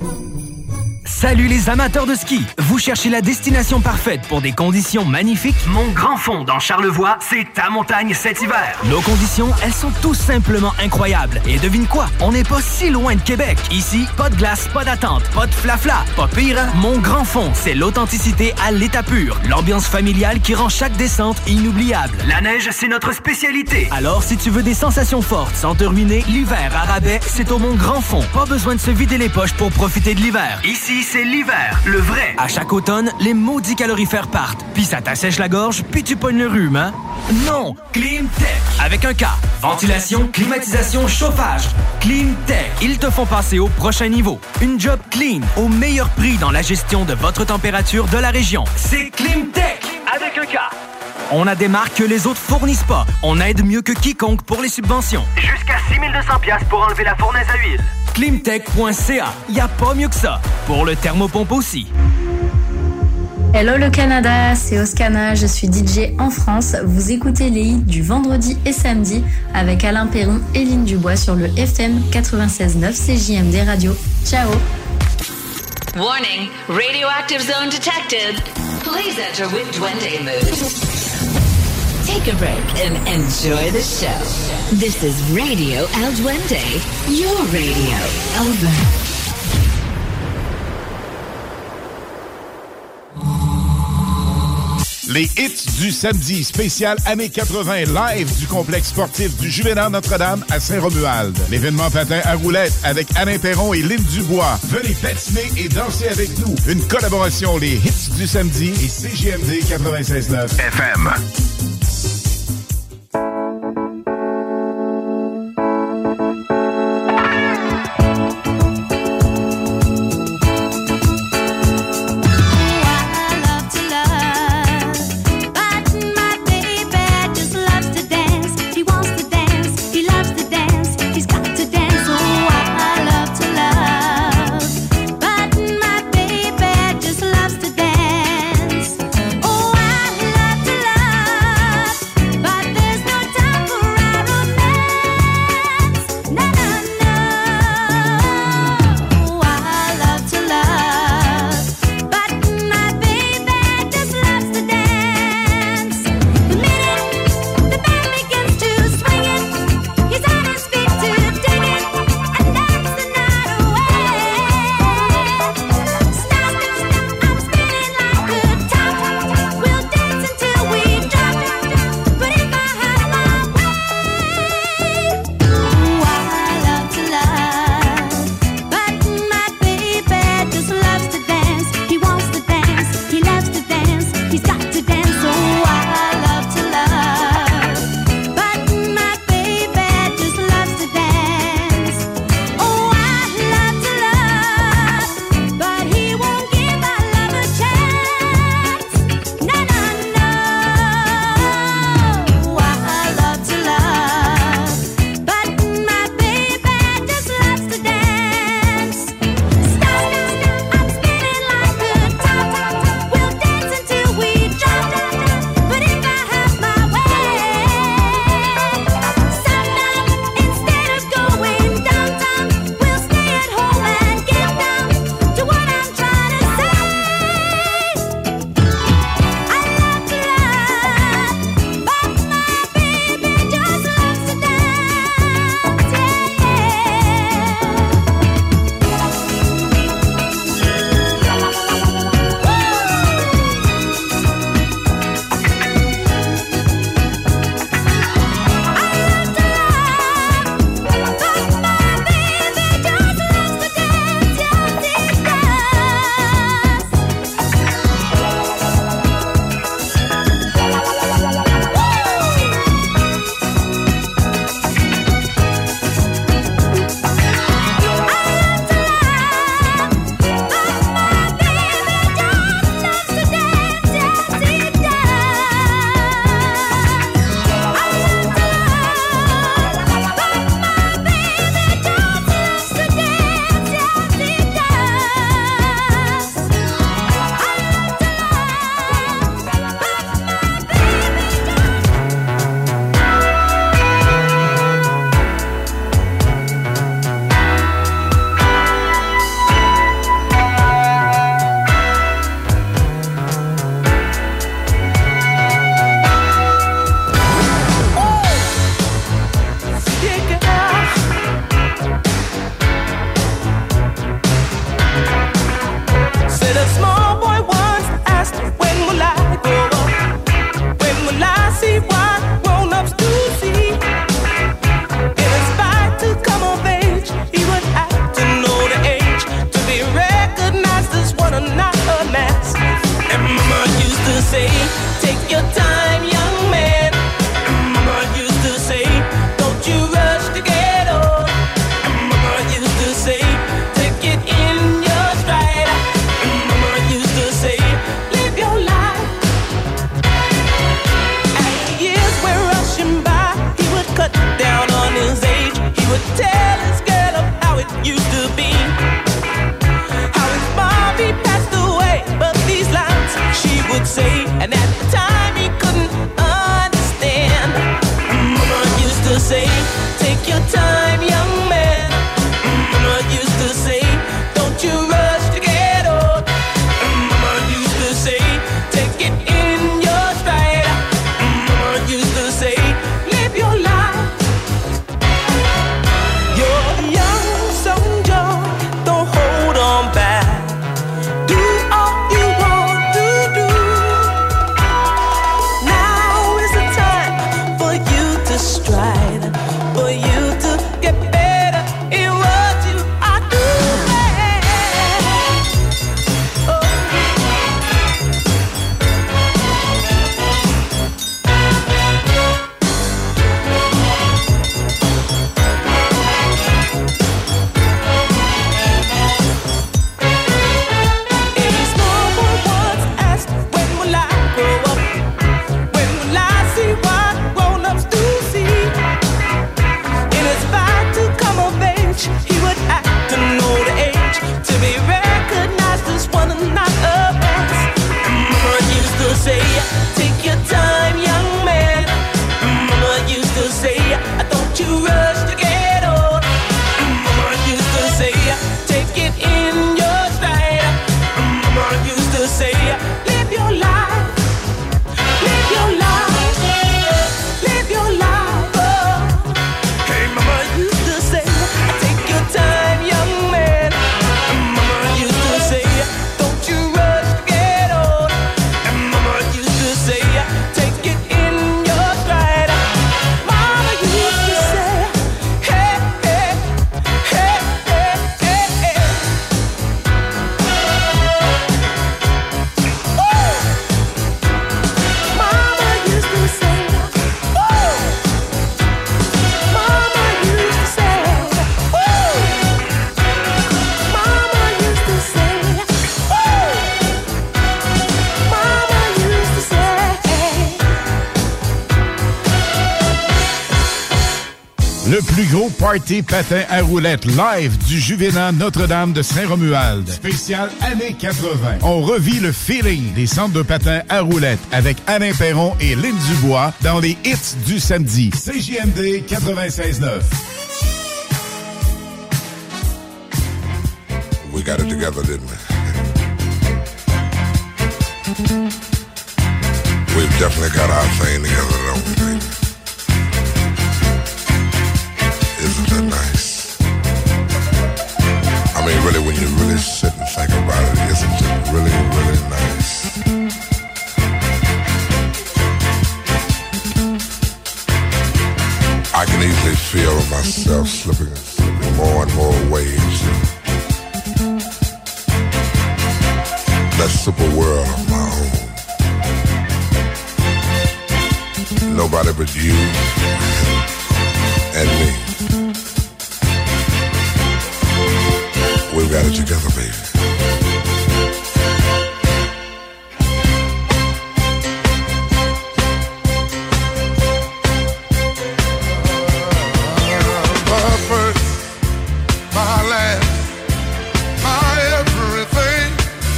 S8: Salut les amateurs de ski! Vous cherchez la destination parfaite pour des conditions magnifiques? Mon Grand Fond dans Charlevoix, c'est ta montagne cet hiver. Nos conditions, elles sont tout simplement incroyables. Et devine quoi? On n'est pas si loin de Québec. Ici, pas de glace, pas d'attente, pas de flafla. Pas pire, Mon Grand Fond, c'est l'authenticité à l'état pur. L'ambiance familiale qui rend chaque descente inoubliable. La neige, c'est notre spécialité. Alors, si tu veux des sensations fortes sans te ruiner, l'hiver à rabais, c'est au Mon Grand Fond. Pas besoin de se vider les poches pour profiter de l'hiver. Ici, c'est l'hiver, le vrai. À chaque automne, les maudits calorifères partent. Puis ça t'assèche la gorge, puis tu pognes le rhume, hein? Non! Climtech, avec un K. Ventilation, climatisation, chauffage. Climtech, ils te font passer au prochain niveau. Une job clean, au meilleur prix dans la gestion de votre température de la région. C'est Climtech, avec un K. On a des marques que les autres fournissent pas. On aide mieux que quiconque pour les subventions. Jusqu'à six mille deux cents dollars pour enlever la fournaise à huile. Climtech point c a. Y a pas mieux que ça. Pour le thermopompe aussi.
S14: Hello le Canada, c'est Oscana, je suis D J en France. Vous écoutez les hits du vendredi et samedi avec Alain Perron et Lynn Dubois sur le F M quatre-vingt-seize neuf C J M D Radio. Ciao.
S13: Warning, radioactive zone detected. Please enter with Duende mood. Take a break and enjoy the show. This is Radio El Duende, your radio. Over.
S17: Les hits du samedi spécial années quatre-vingt live du complexe sportif du Juvénal Notre-Dame à Saint-Romuald. L'événement patin à roulettes avec Alain Perron et Lynn Dubois. Venez patiner et danser avec nous. Une collaboration les hits du samedi et C J M D quatre-vingt-seize neuf F M.
S1: Love say, take your time, young man. Mama used to say, don't you rush to get old. Mama used to say, take it in your stride. Mama used to say, live your life. You're young, so young, don't hold on back. Do all you want to do. Now is the time for you to strive, for you to get better in what you are doing. Oh. A small boy once asked, when will I grow up? When will I see what grown-ups do see? In his fight to come of age, he would act to know the age, to be recognized as one and not a past. Mama used to say, take your time, young man. Mama used to say, don't you rush to get old. Mama used to say, take it in your stride. Mama used to say, live your life. Live your life. Live your life. Oh. Hey, mama used to say, take your time, young man. Mama used to say, don't you rush to get old. And mama used to say, take it in your stride. Mama used to say, hey, hey, hey, hey, hey, hey. Ooh. Mama used to say, ooh. Mama used to say, ooh. Mama used to say, ooh. Mama used to say.
S17: Le plus gros party patin à roulettes live du Juvénat Notre-Dame de Saint-Romuald. Spécial années quatre-vingt. On revit le feeling des centres de patins à roulettes avec Alain Perron et Lynn Dubois dans les hits du samedi. C J M D quatre-vingt-seize neuf.
S15: We got it together, didn't we? We've definitely got our thing together, don't we, baby? Isn't that nice? I mean, really, when you really sit and think about it, isn't it really, really nice? I can easily feel myself slipping, slipping more and more away into that super world of my own. Nobody but you and me. We've got it together, baby. My first, my last, my everything,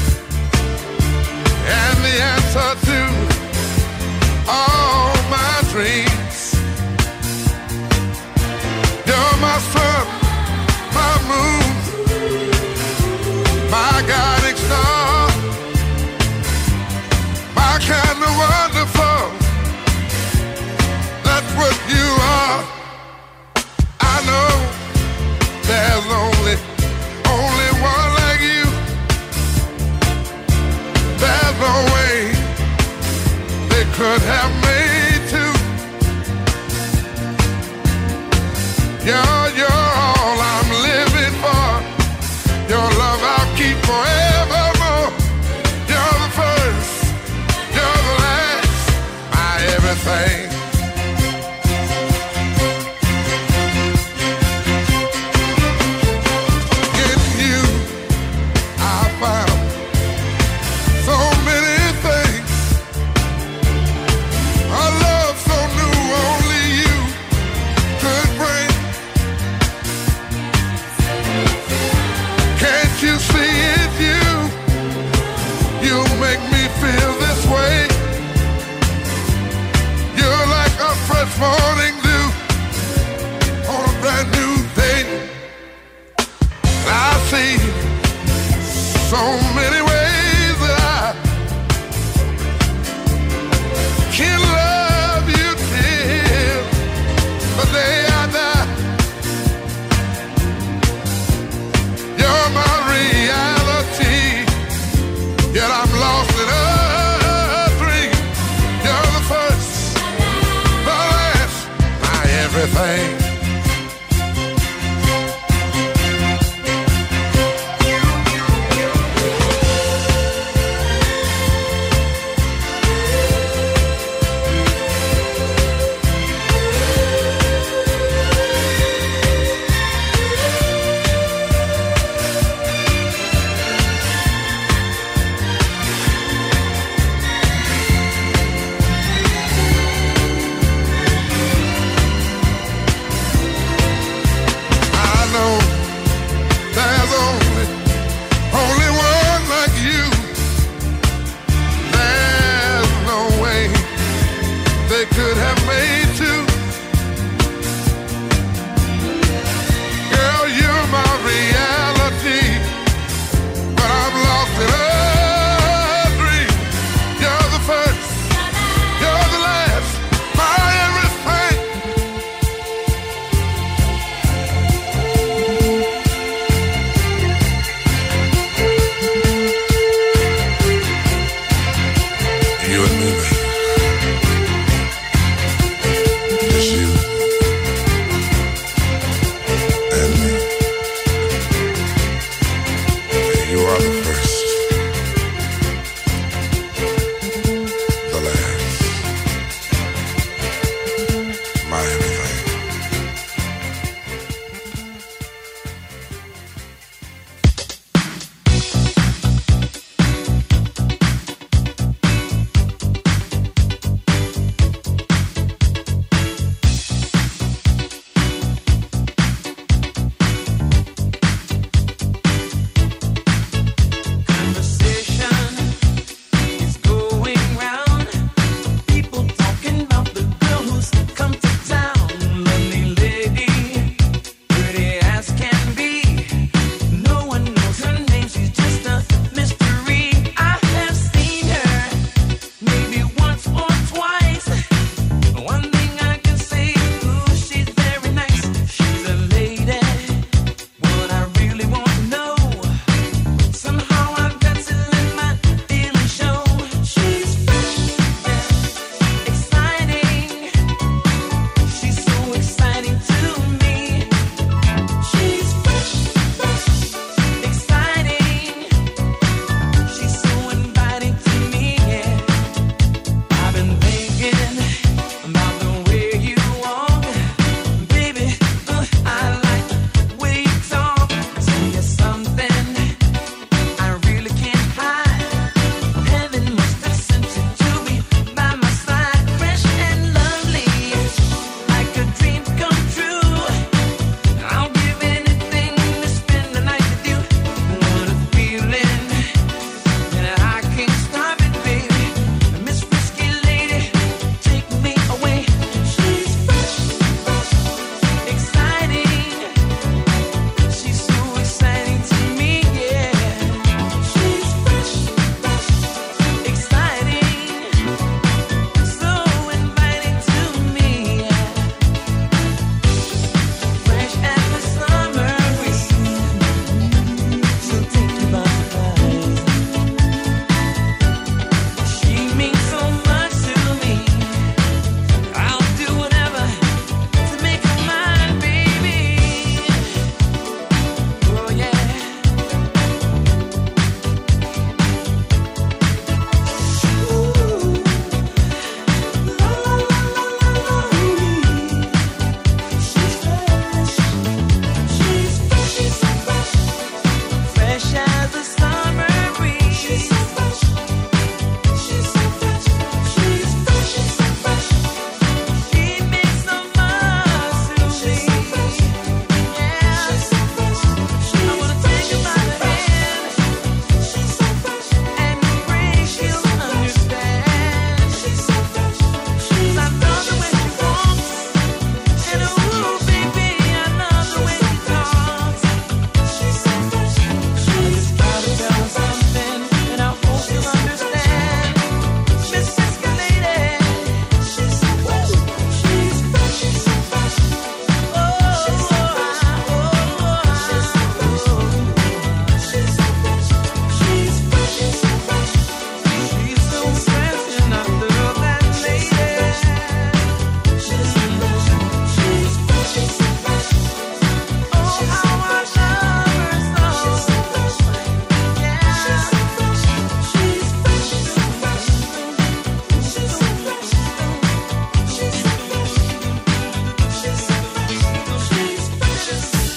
S15: and the answer to all my dreams. You're my sun, my moon, my guiding star, my kind of wonderful. That's what you are. I know there's only, only one like you. There's no way they could have made two. You're, you're all I'm living for. Your love I'll keep forevermore. You're the first, you're the last, my everything. In you, I found so many things. A love so new, only you could bring.
S4: everything.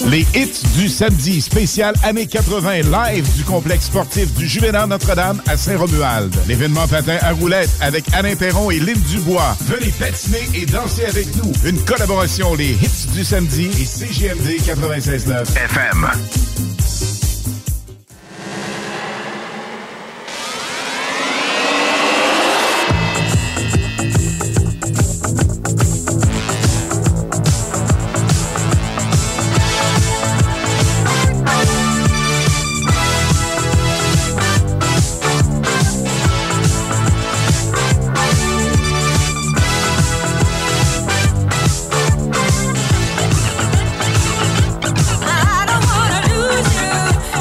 S17: Les hits du samedi, spécial années quatre-vingt, live du complexe sportif du Juvénat Notre-Dame à Saint-Romuald. L'événement patin à roulettes avec Alain Perron et Lynn Dubois. Venez patiner et danser avec nous. Une collaboration, les hits du samedi et C J M D quatre-vingt-seize neuf F M.
S3: I don't wanna lose you.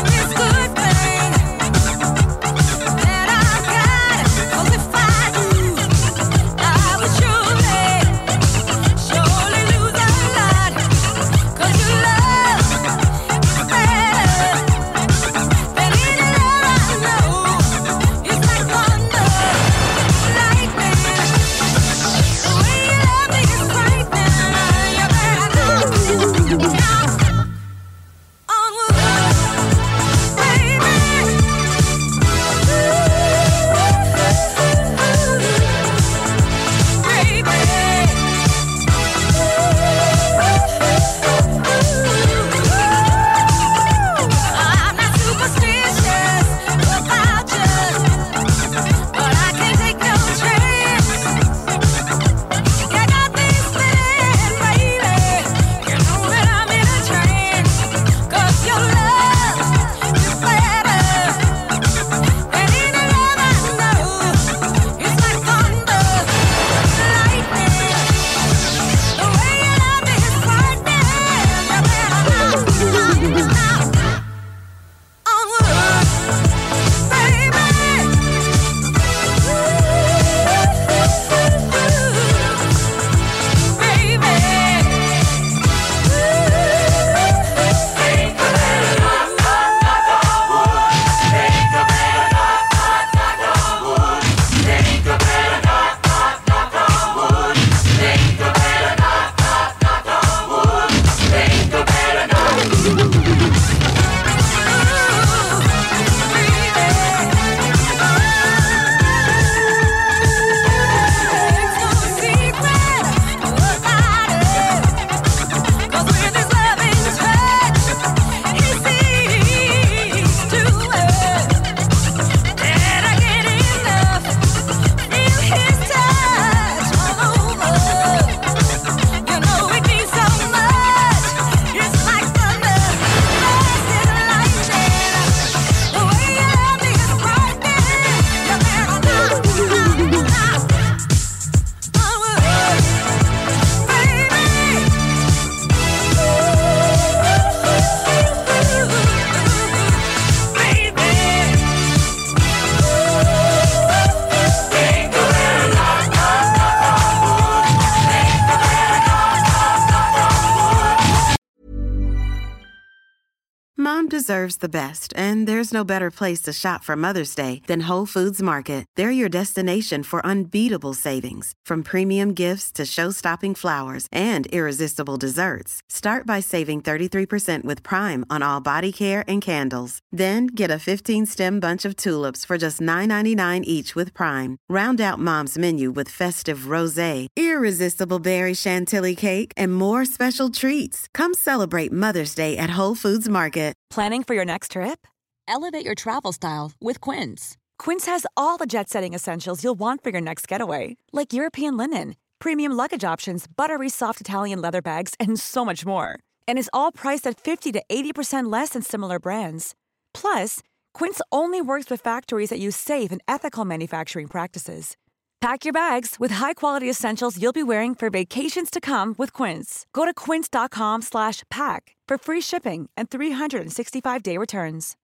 S4: Mom deserves the best, and there's no better place to shop for Mother's Day than Whole Foods Market. They're your destination for unbeatable savings, from premium gifts to show-stopping flowers and irresistible desserts. Start by saving thirty-three percent with Prime on all body care and candles. Then get a fifteen-stem bunch of tulips for just nine ninety-nine each with Prime. Round out Mom's menu with festive rosé, irresistible berry chantilly cake, and more special treats. Come celebrate Mother's Day at Whole Foods Market.
S18: Planning for your next trip? Elevate your travel style with Quince. Quince has all the jet-setting essentials you'll want for your next getaway, like European linen, premium luggage options, buttery soft Italian leather bags, and so much more. And is all priced at fifty to eighty percent less than similar brands. Plus, Quince only works with factories that use safe and ethical manufacturing practices. Pack your bags with high-quality essentials you'll be wearing for vacations to come with Quince. Go to quince.com slash pack for free shipping and three sixty-five day returns.